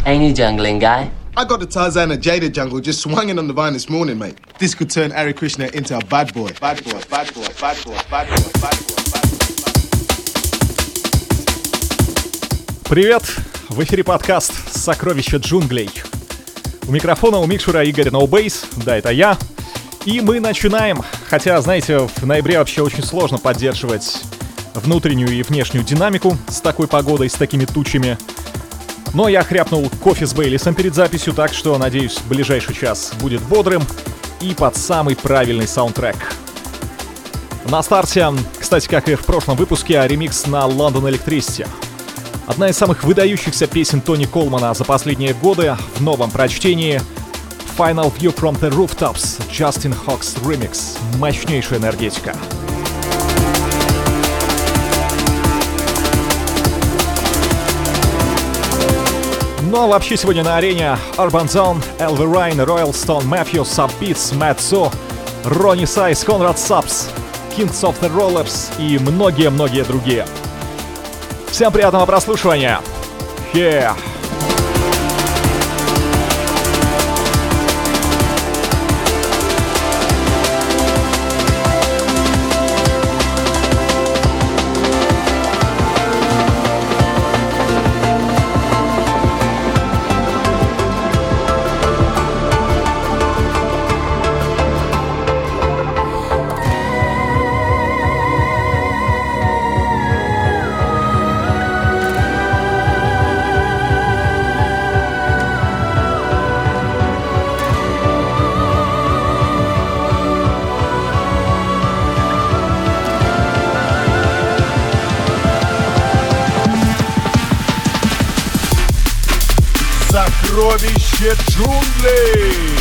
Ain't he jungling, guy? I got the Tarzan and Jada jungle just swinging on the vine this morning, mate. This could turn Ari Krishna into a bad boy. Bad boy, bad boy, bad boy, bad boy, bad boy, bad boy. Привет! В эфире подкаст «Сокровища джунглей». У микрофона у микшера Игорь Ноубейс, да, это я. И мы начинаем. Хотя, знаете, в ноябре вообще очень сложно поддерживать внутреннюю и внешнюю динамику с такой погодой, с такими тучами. Но я хряпнул кофе с Бейлисом перед записью, так что, надеюсь, ближайший час будет бодрым и под самый правильный саундтрек. На старте, кстати, как и в прошлом выпуске, ремикс на London Electricity. Одна из самых выдающихся песен Тони Колмана за последние годы в новом прочтении Final View from the Rooftops, Justin Hawkes Remix. Мощнейшая энергетика. Ну а вообще сегодня на арене Urban Zone, Elvi Ryan, Royal Stone, Matthew, Subbeats, Matt Zo, Ronnie Size, Conrad Subs, Kings of the Rollers и многие-многие другие. Всем приятного прослушивания! Yeah. Сокровище джунглей!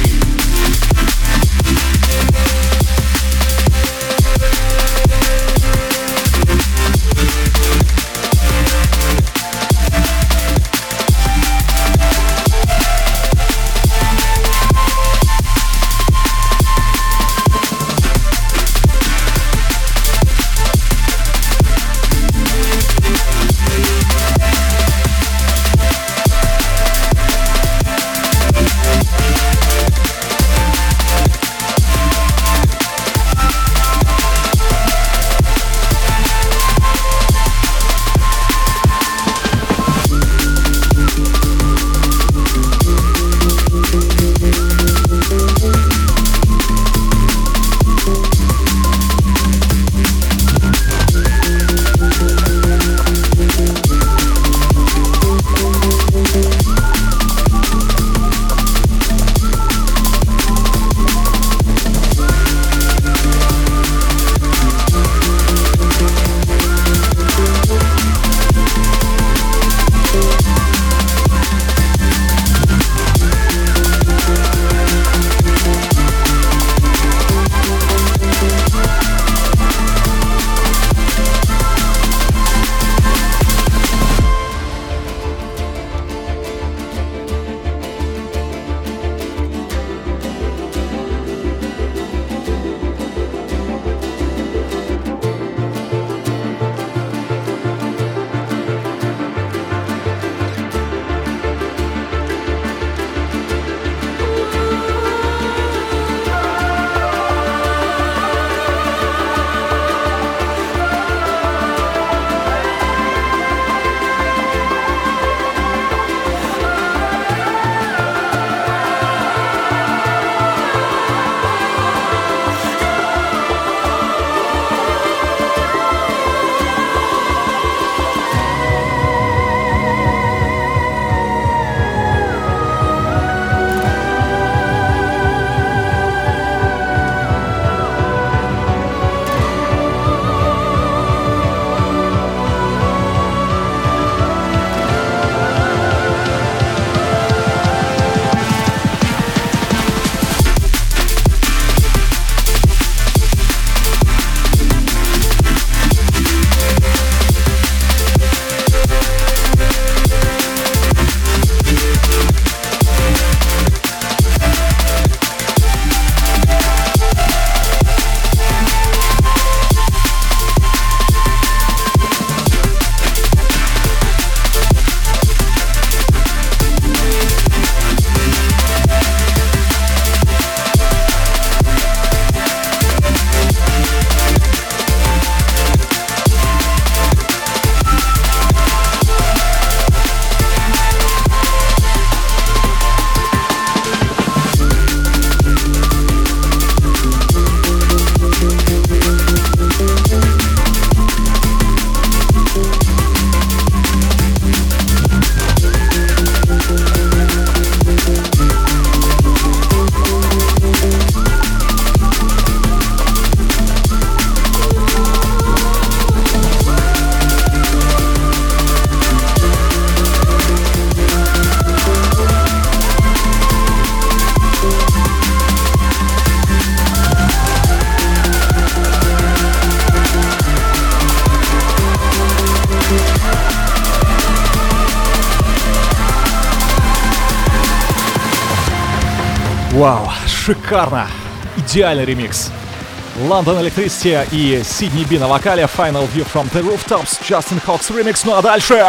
Вау, шикарно! Идеальный ремикс. London Electricity и Сидни Би на вокале. Final View from the Rooftops. Justin Hawks ремикс. Ну а дальше...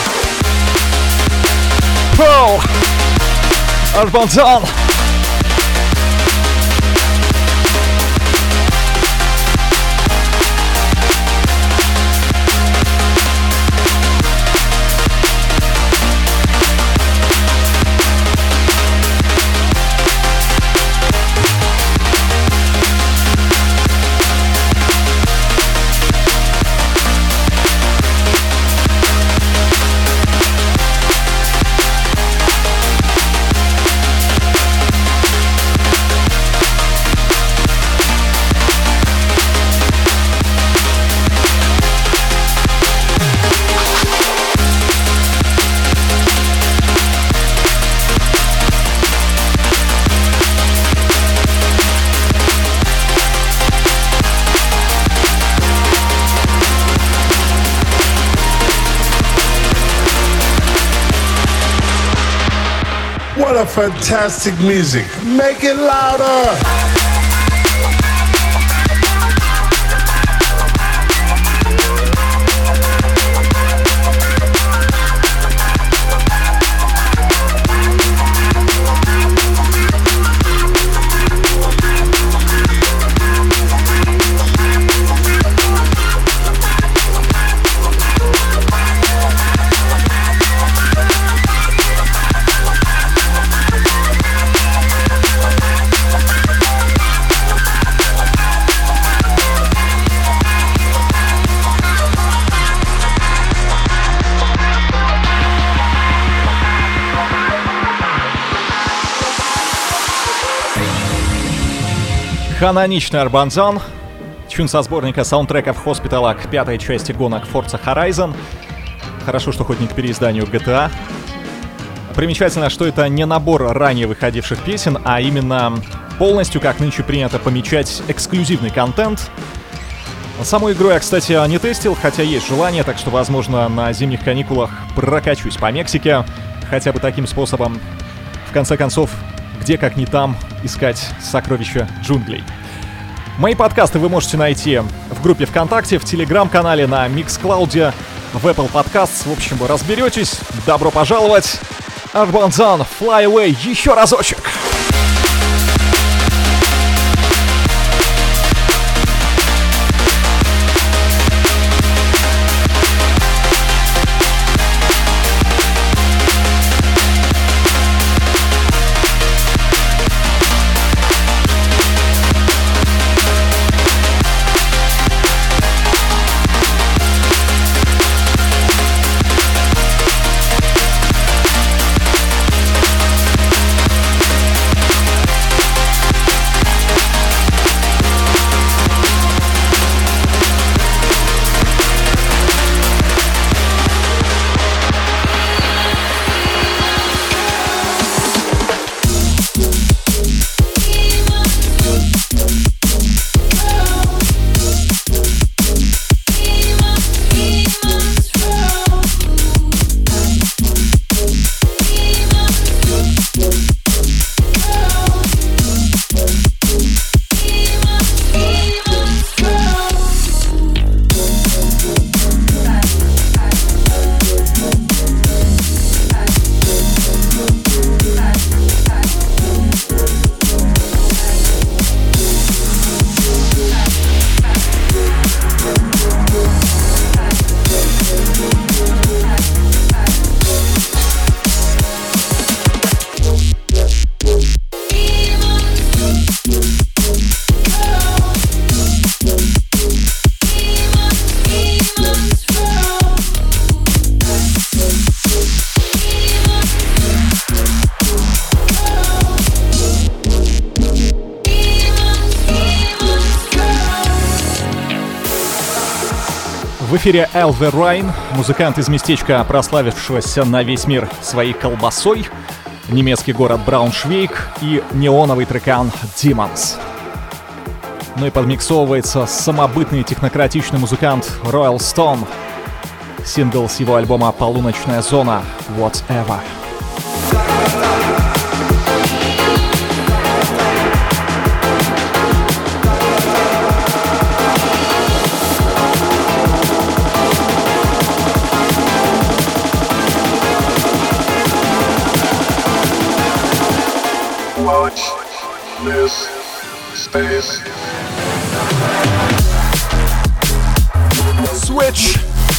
Пол! Арбанзан! What a fantastic music. Make it louder. Каноничный Арбанзан. Тюн со сборника саундтреков Hospital к пятой части гонок Forza Horizon. Хорошо, что хоть не к переизданию GTA. Примечательно, что это не набор ранее выходивших песен, а именно полностью, как нынче принято помечать, эксклюзивный контент. Саму игру я, кстати, не тестил, хотя есть желание, так что, возможно, на зимних каникулах прокачусь по Мексике. Хотя бы таким способом. В конце концов, где, как не там, искать сокровища джунглей. Мои подкасты вы можете найти в группе ВКонтакте, в Телеграм-канале, на Mixcloud, в Apple Podcasts. В общем, вы разберетесь. Добро пожаловать! Арбанзан, Fly Away, еще разочек! В эфире Elver Rhine, музыкант из местечка, прославившегося на весь мир своей колбасой, немецкий город Брауншвейг и неоновый трекан Demons. Ну и подмиксовывается самобытный технократичный музыкант Royal Stone. Сингл с его альбома «Полуночная зона» «Whatever». Watch this space. Switch.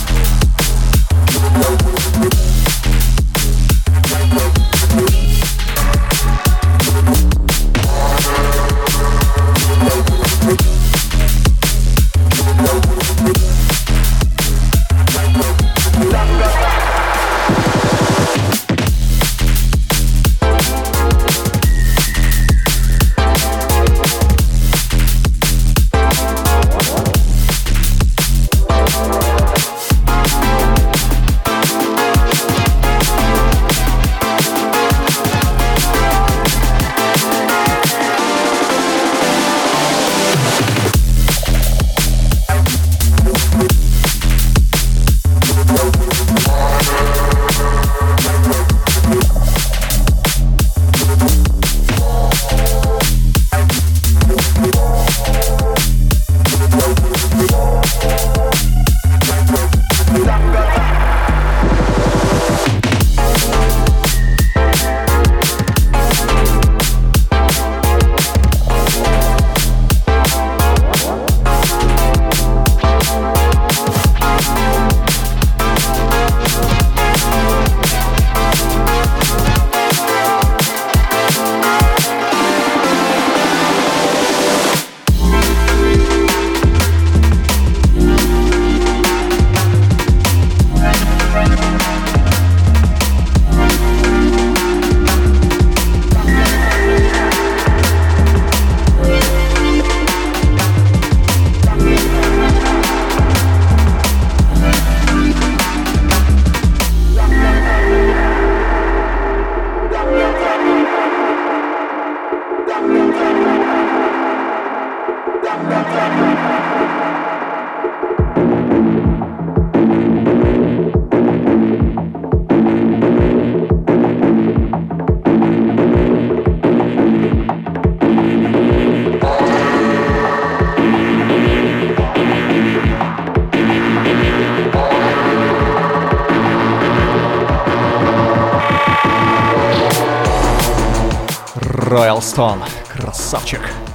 Royal Stone. Красавчик.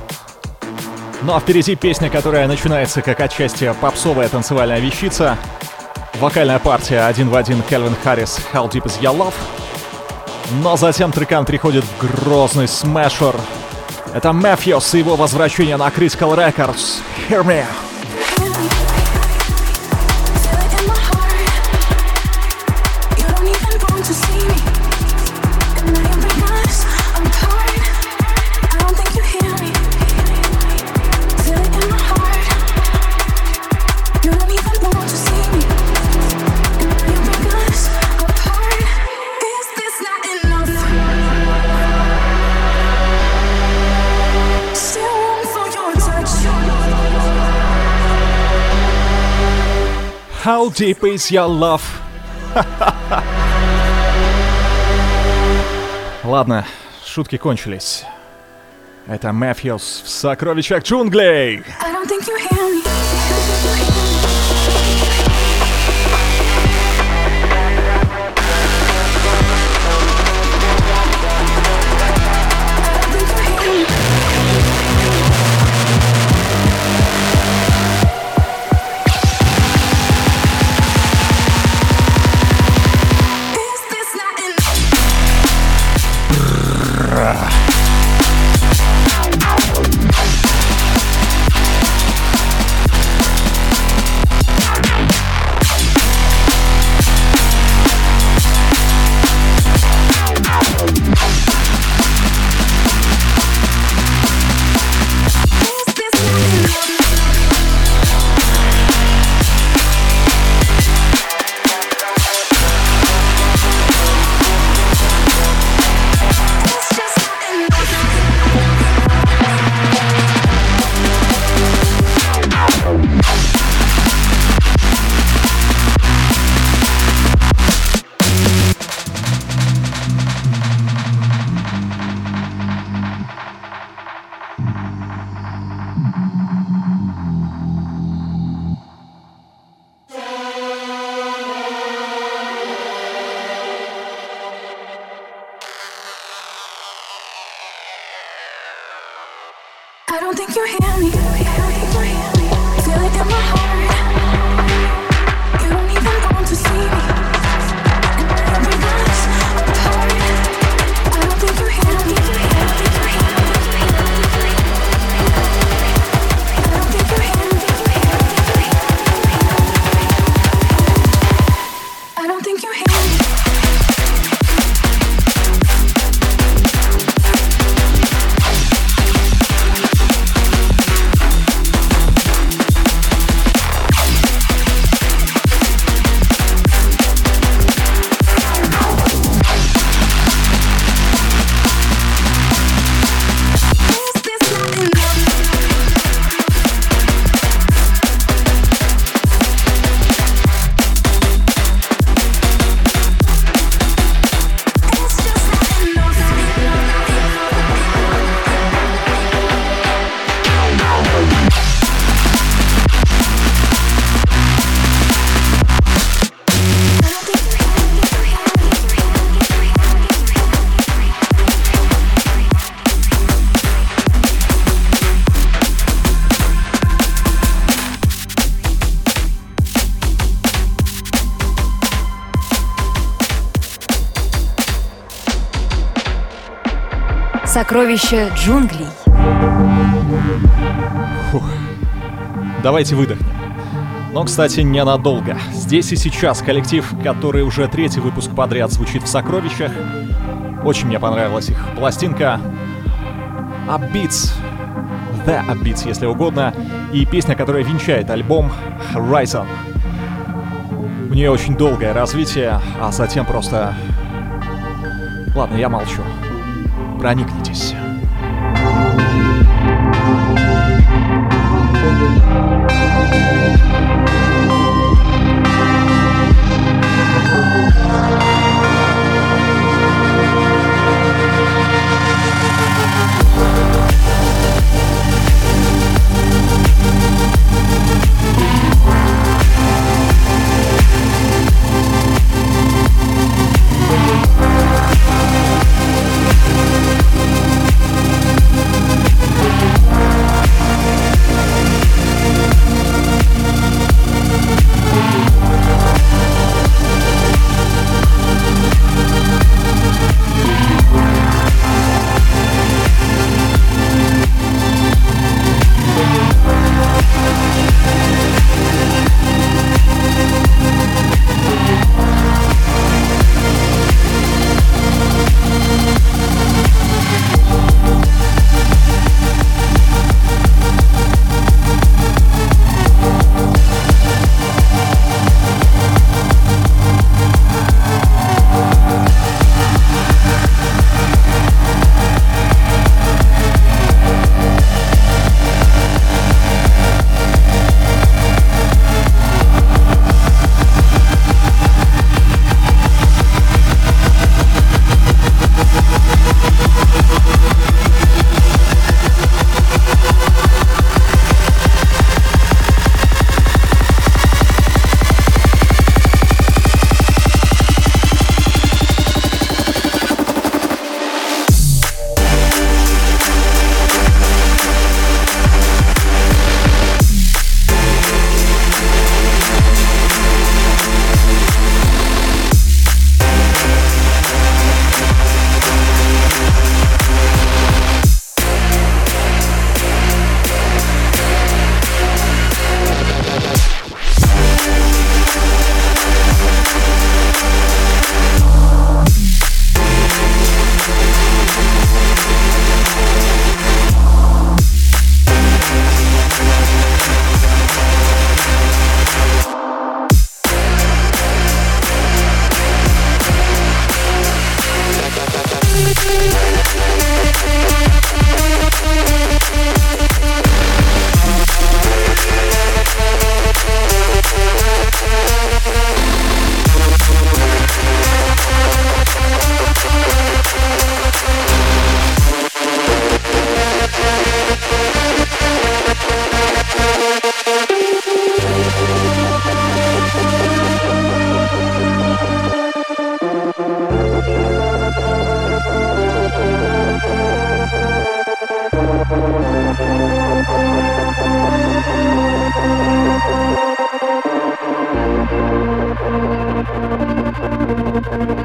Ну а впереди песня, которая начинается как отчасти попсовая танцевальная вещица. Вокальная партия один в один Кельвин Харрис «How Deep Is Your Love». Но затем трекан приходит в грозный смешер. Это Matthews и его возвращение на Critical Records. Hear Me. How deep is your love? Ладно, шутки кончились. Это Matthews в «Сокровищах джунглей». Сокровища джунглей. Фух. Давайте выдохнем. Но, кстати, ненадолго. Здесь и сейчас коллектив, который уже третий выпуск подряд звучит в «Сокровищах». Очень мне понравилась их пластинка Upbeats, The Upbeats, если угодно, и песня, которая венчает альбом Horizon. У нее очень долгое развитие, а затем просто... Ладно, я молчу. Проникнитесь.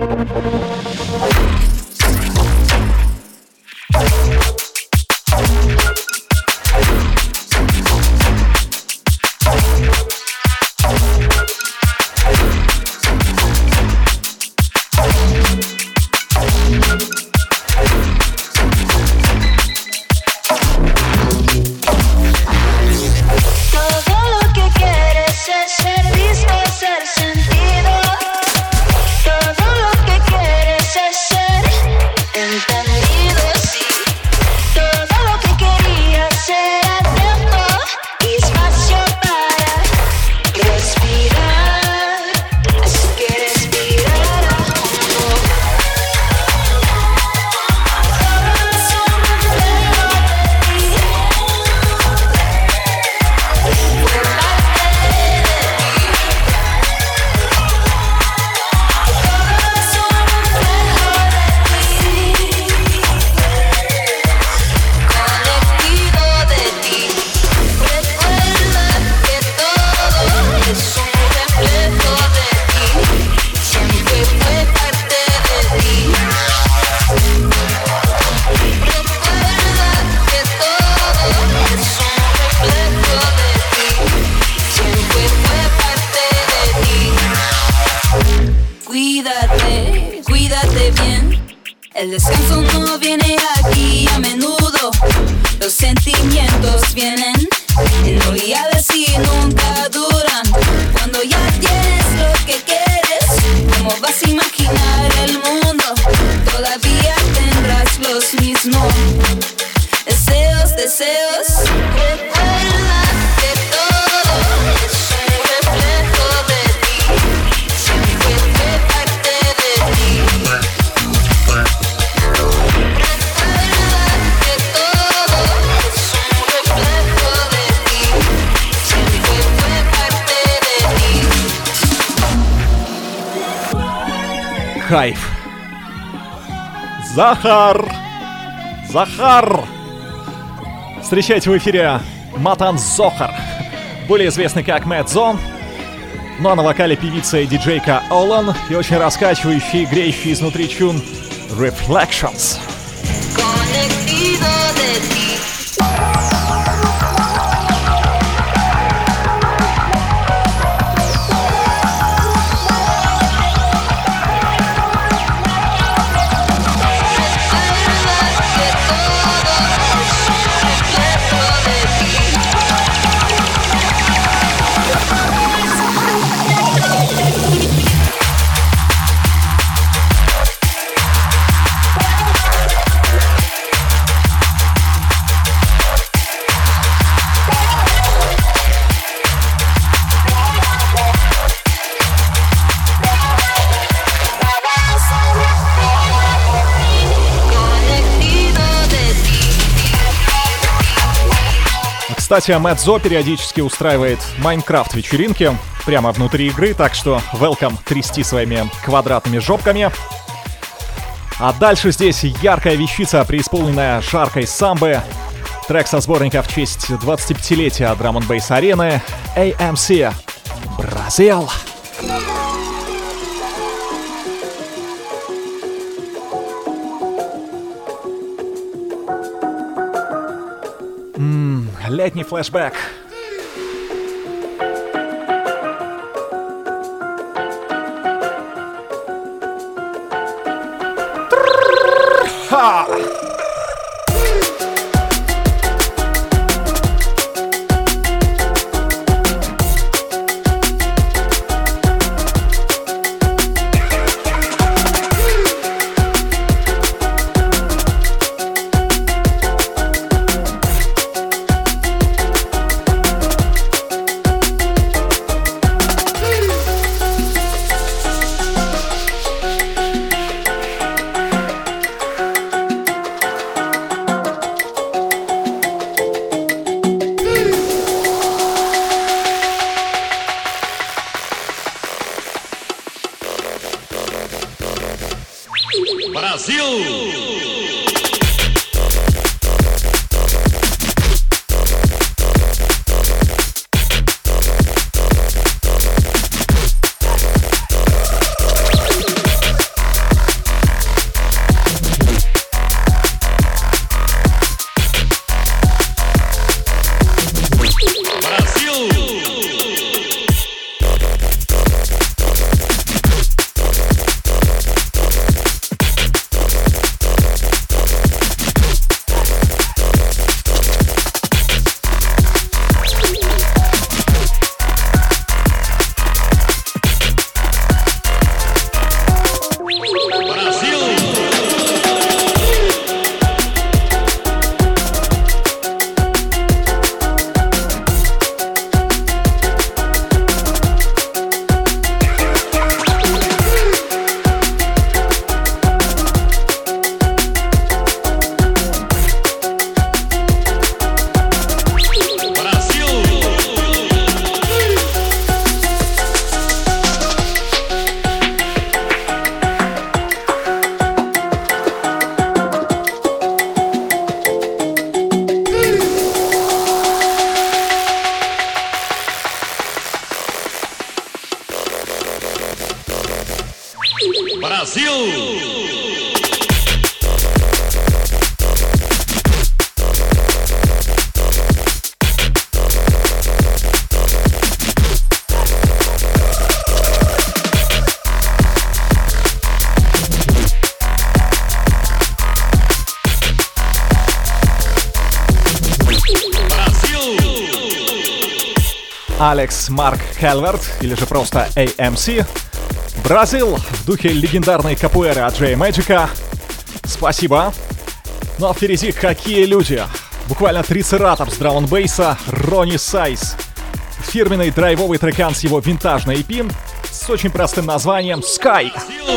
El descanso no viene aquí a menudo. Los sentimientos vienen en oleadas y nunca duran. Cuando ya tienes lo que quieres, ¿cómo vas a imaginar el mundo? Todavía tendrás los mismos deseos, deseos. Recuerda que todo es un reflejo de ti. Siempre fue parte de ti. Recuerda que todo es un reflejo de ti. Siempre fue parte de ti. Хайп. Захар! Встречайте в эфире Матан Зохар, более известный как Мэтт Зо, ну а на вокале певица и диджейка Олан и очень раскачивающий, греющий изнутри чун Reflections. Conectido de ti. Кстати, Мэтт Зо периодически устраивает Майнкрафт-вечеринки прямо внутри игры, так что welcome трясти своими квадратными жопками. А дальше здесь яркая вещица, преисполненная жаркой самбы. Трек со сборника в честь 25-летия драм-н-бейс арены AMC Бразил. Летний флешбэк. Ха! Алекс Марк Кальверт, или же просто AMC. Бразил в духе легендарной капуэры от Джей Мэджика. Спасибо. Ну а впереди какие люди? Буквально трицератопс драм-н-бейса Ронни Сайз. Фирменный драйвовый трекан с его винтажной EP с очень простым названием Sky.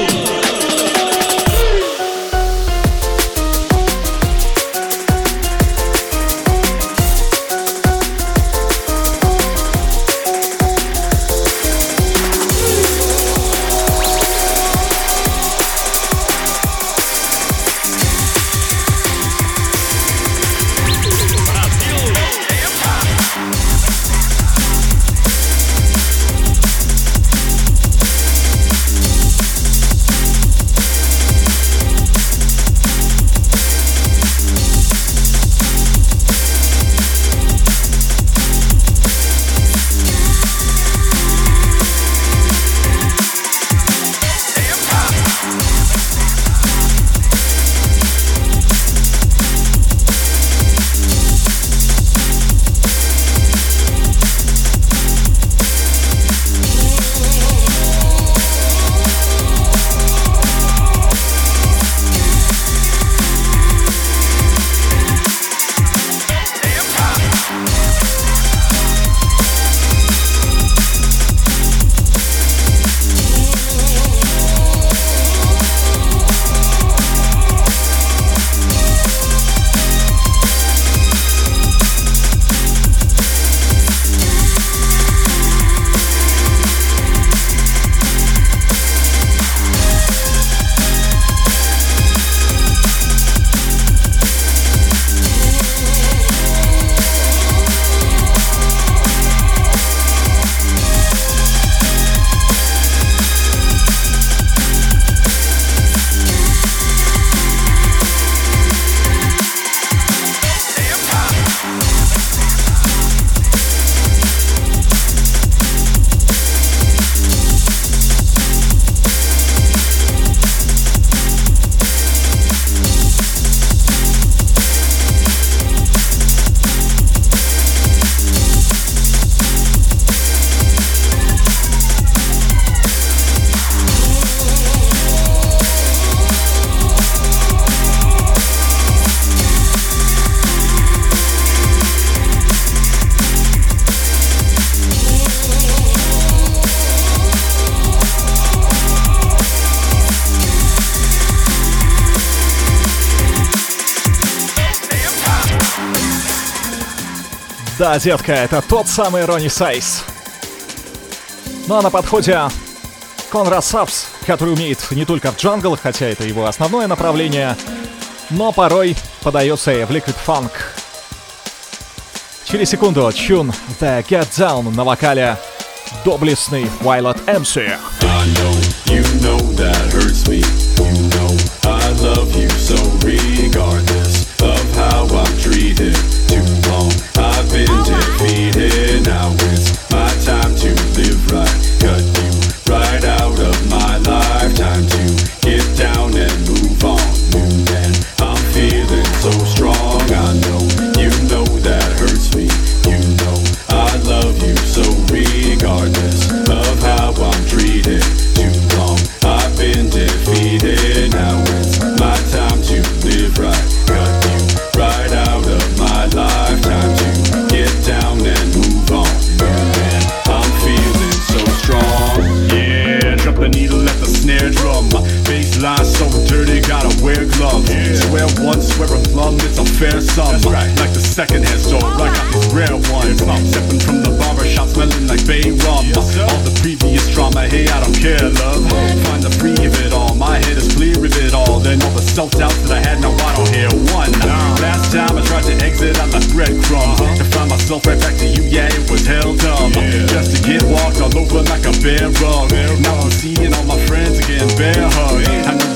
Да, детка, это тот самый Ронни Сайз. Ну а на подходе Конрад Сапс, который умеет не только в джангл, хотя это его основное направление, но порой подается и в Liquid Funk. Через секунду чун The Get Down на вокале доблестный Violet MC. I know, you know that hurts me. You know I love you so regardless of how I'm treated. Too long I've been defeated. Now it's my time to live right. Cut you right out of my life. Time to get down and move on. And I'm feeling so strong. I know, you know that hurts me. You know I love you so regardless of how I'm treated. Too long I've been defeated. Now it's my time to live right. Cut you right out of my life. Time to get down and move on. And I'm feeling so strong. Yeah, drop the needle at the snare drum. My baseline so dirty, gotta wear gloves. Swear one, swear a plum, it's a fair sum. Right. Like the second hand store, I got these rare ones. I'm sipping from the barbershop, smelling like bay rum. All the previous drama, hey, I don't care, love. Find the free of it all, my head is clear of it all. Then all the self-doubts that I had, now I don't hear one. Last time I tried to exit out the breadcrumbs to find myself right back to you, yeah, it was hell dumb. Just to get walked all over like a bear rug. Now I'm seeing all my friends again, bear hug. I know you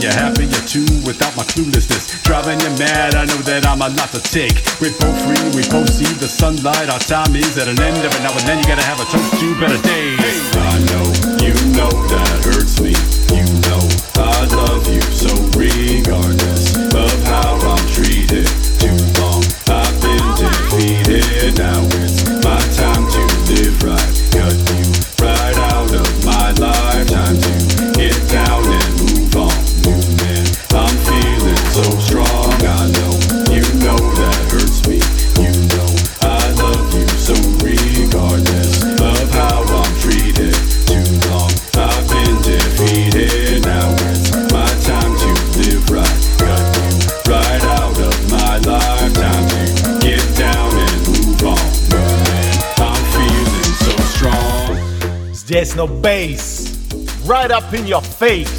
you happier too without my cluelessness. Driving you mad, I know that I'm a lot to take. We're both free, we both see the sunlight. Our time is at an end. Every now and then you gotta have a toast to better days. I know, you know that hurts me. You know I love you so regardless of how I'm treated. Too long I've been defeated. Now it's my time to live right. Cut you right out of my lifetime to get down and move on. New man, I'm feeling so strong. I know, you know that hurts me. You know I love you so regardless of how I'm treated. Too long I've been defeated. Now it's my time to live right. Cut you right out of my lifetime to get down and move on. New man, I'm feeling so strong. Здесь no bass, right up in your face.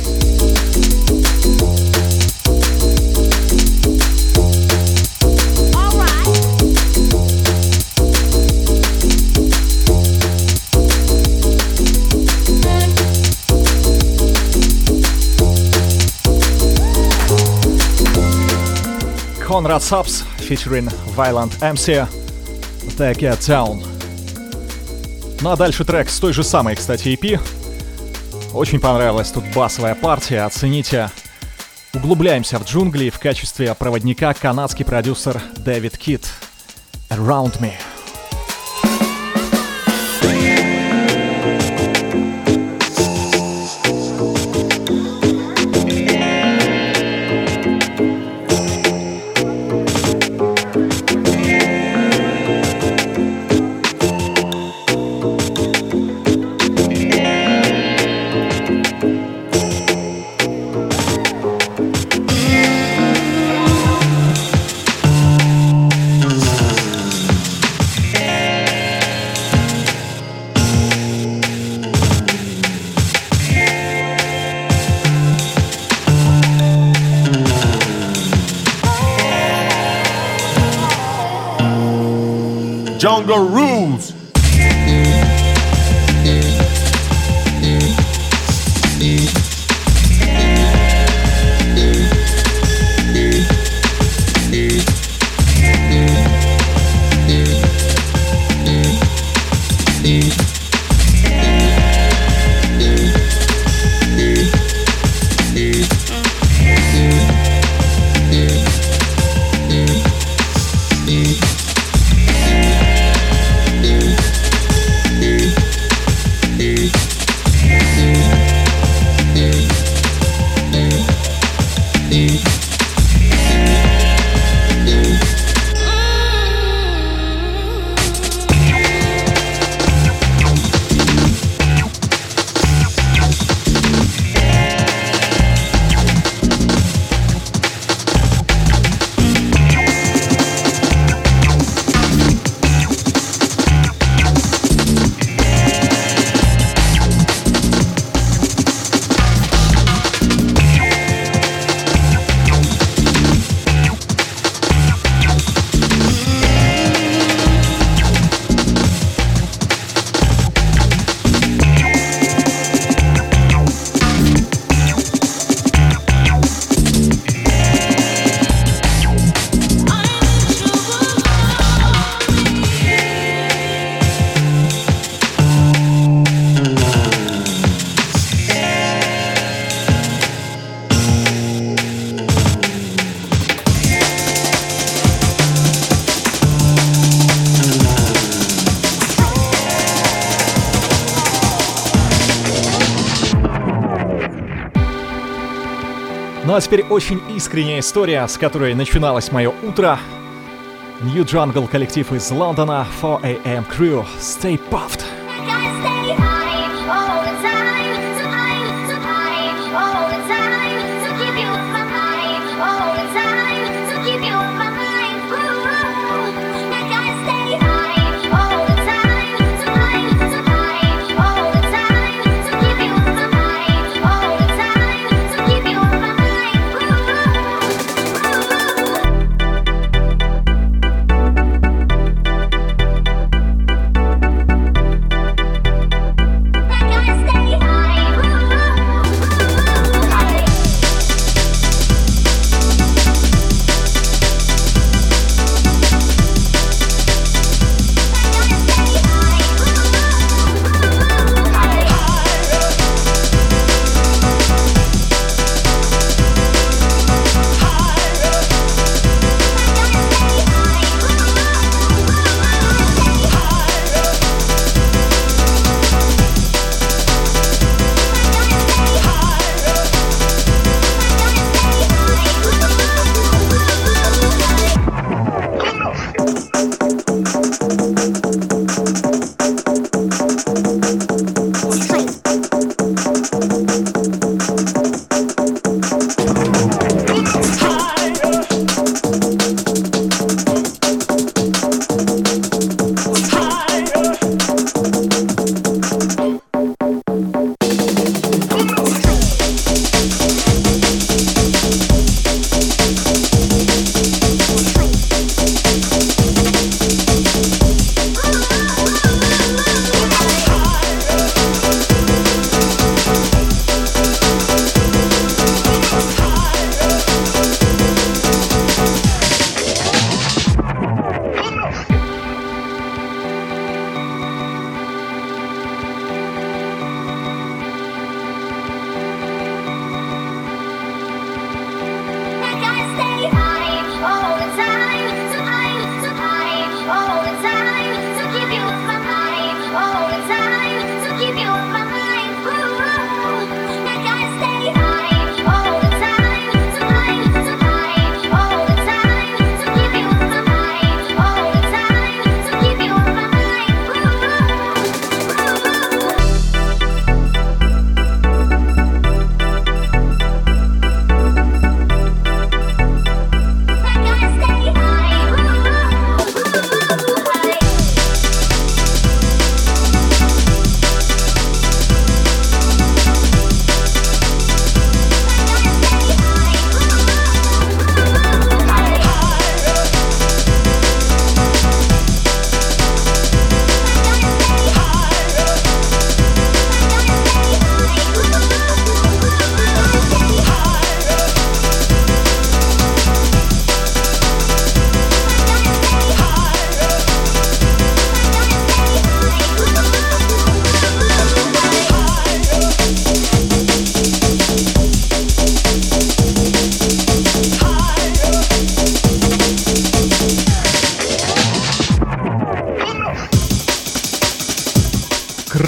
Conrad Subs featuring Violent MC, The Get Down. Ну а дальше трек с той же самой, кстати, EP. Очень понравилась тут басовая партия, оцените. Углубляемся в джунгли, в качестве проводника канадский продюсер Дэвид Кит. Around Me. Jungle Rules. Ну а теперь очень искренняя история, с которой начиналось мое утро. New Jungle коллектив из Лондона, 4AM Crew, Stay Puffed.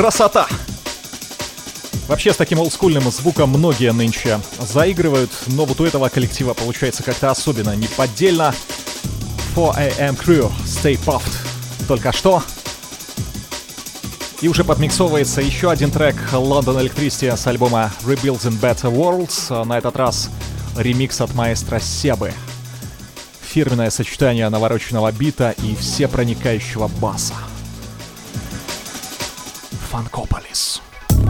Красота! Вообще с таким олдскульным звуком многие нынче заигрывают, но вот у этого коллектива получается как-то особенно неподдельно. 4AM Crew, Stay Puft. Только что. И уже подмиксовывается еще один трек London Electricity с альбома Rebuilding Better Worlds. На этот раз ремикс от маэстро Себы. Фирменное сочетание навороченного бита и всепроникающего баса. Funkopolis.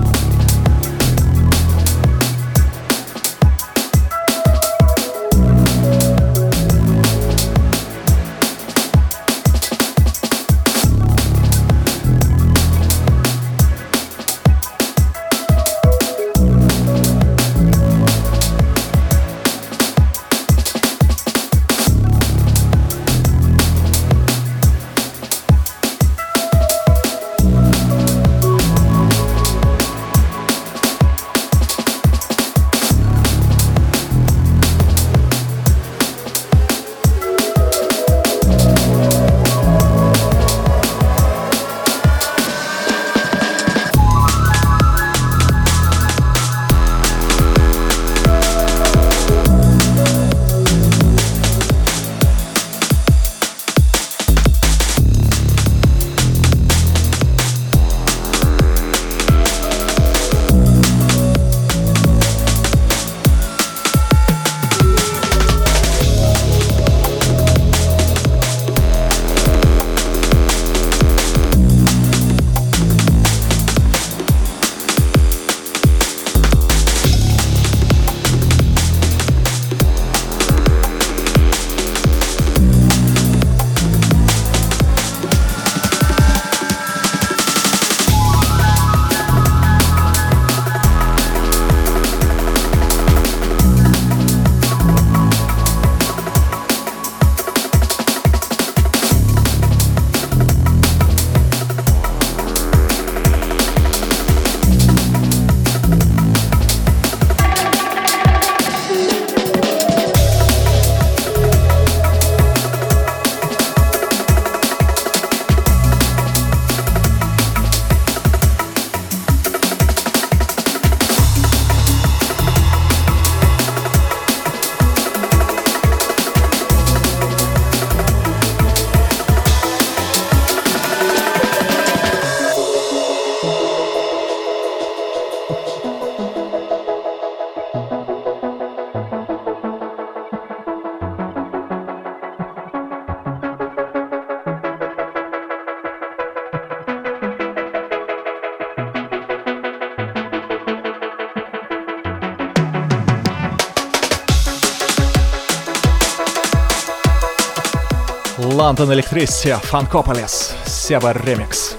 London Electricity, Funkopolis, Себа ремикс.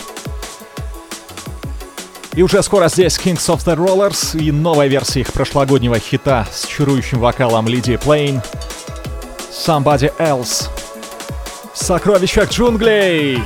И уже скоро здесь Kings of the Rollers и новая версия их прошлогоднего хита с чарующим вокалом Лидии Плейн Somebody Else. Сокровища джунглей!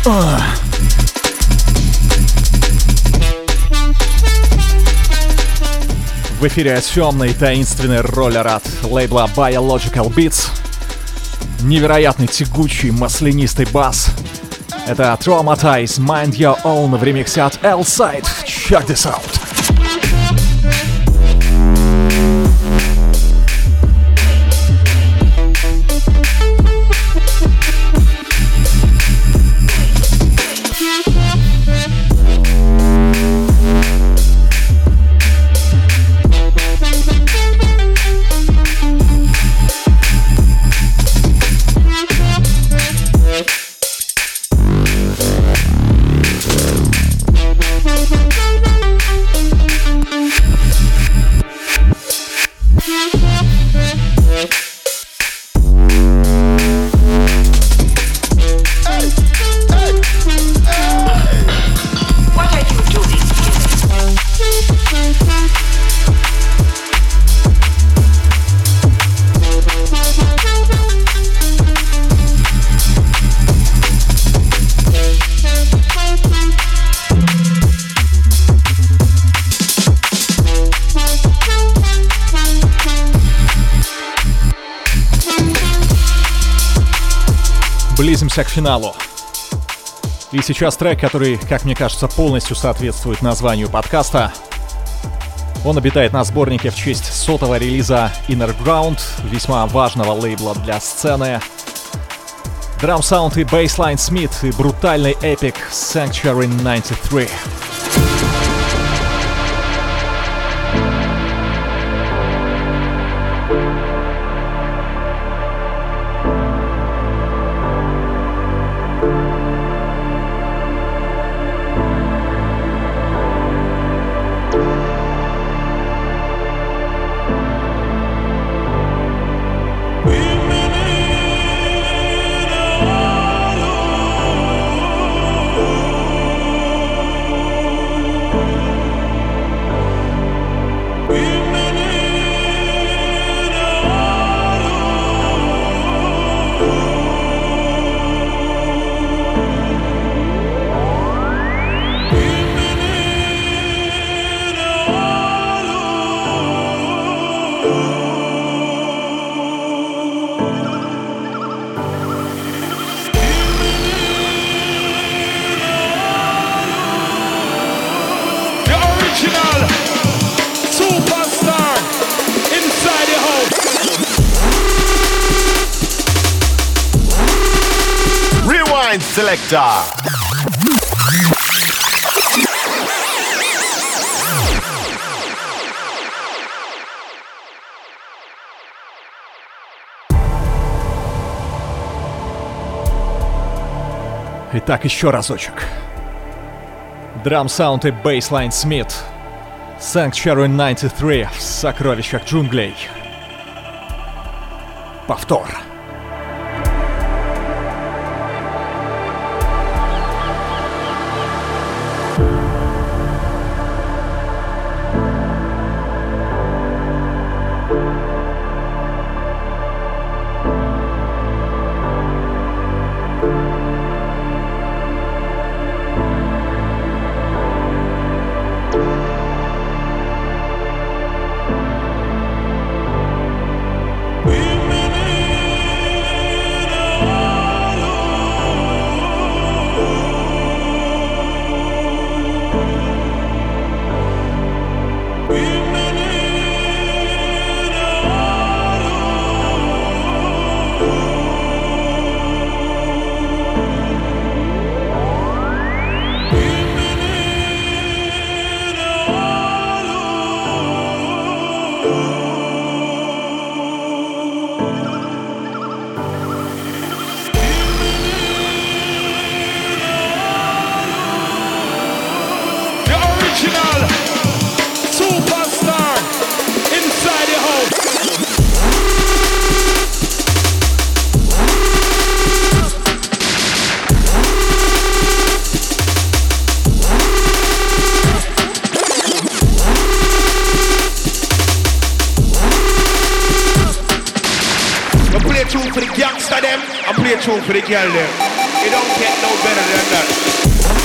В эфире темный таинственный роллер от лейбла Biological Beats. Невероятный тягучий маслянистый бас. Это Traumatize Mind Your Own в ремиксе от L-Side. Check this out. Близимся к финалу. И сейчас трек, который, как мне кажется, полностью соответствует названию подкаста. Он обитает на сборнике в честь 100-го релиза Inner Ground, весьма важного лейбла для сцены. Драм-саунд и бейслайн Смит и брутальный эпик Sanctuary 93. Selector. Итак, еще разочек. Драм-саунд и бейслайн Смит. Sanctuary 93 в сокровищах джунглей. Повтор. Tune for the girl them. It don't get no better than that.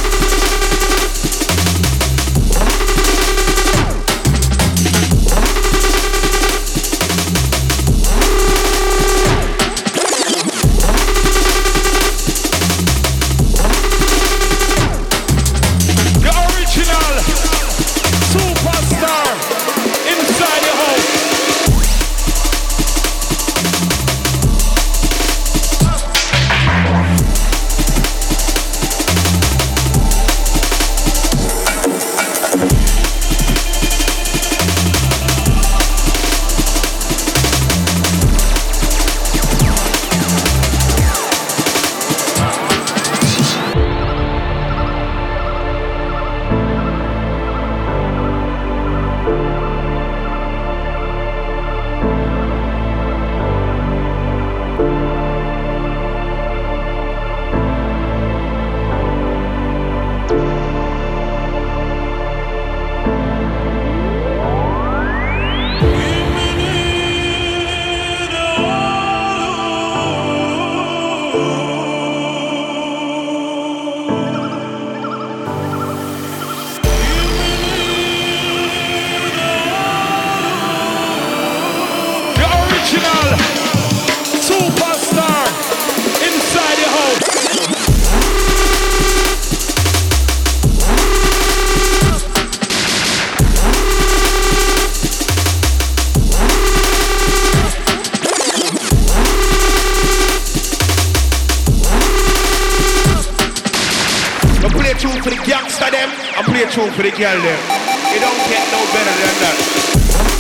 For the girl there, it don't get no better than that.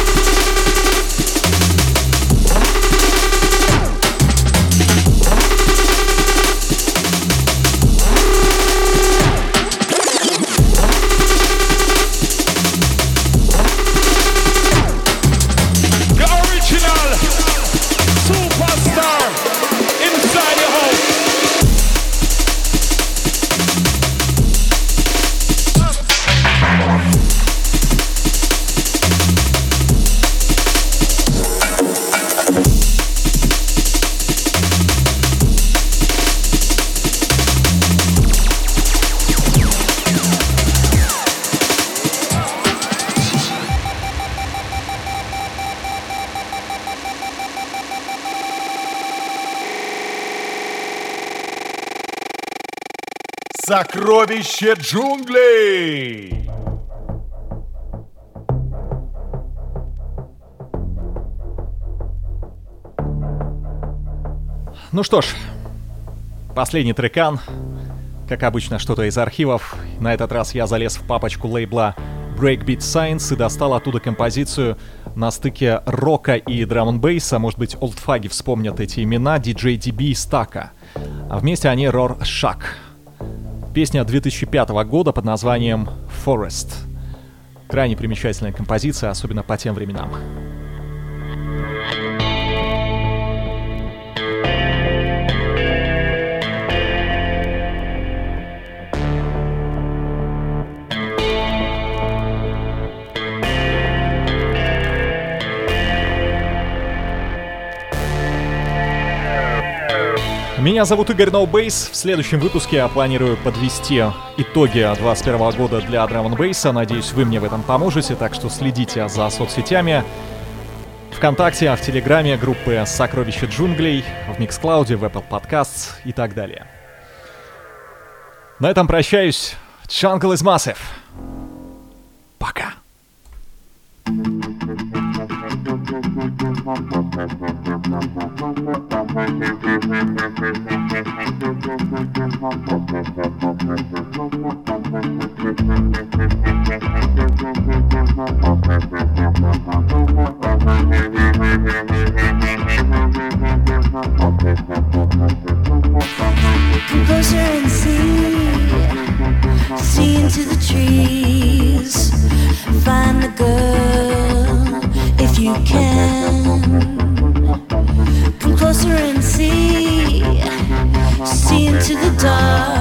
Сокровище джунглей! Ну что ж, последний трекан. Как обычно, что-то из архивов. На этот раз я залез в папочку лейбла Breakbeat Science и достал оттуда композицию на стыке рока и драм-н-бейса. Может быть, олдфаги вспомнят эти имена. DJ DB и Стака. А вместе они Rorschach. Песня 2005 года под названием Forest. Крайне примечательная композиция, особенно по тем временам. Меня зовут Игорь No Bass. В следующем выпуске я планирую подвести итоги 2021 года для драм-н-бейса. Надеюсь, вы мне в этом поможете, так что следите за соцсетями. ВКонтакте, в Телеграме, группы «Сокровище джунглей», в Миксклауде, в Apple Podcasts и так далее. На этом прощаюсь. Jungle is massive. Пока. Closer and see into the trees. Find the girl if you can. Come closer and see into the dark.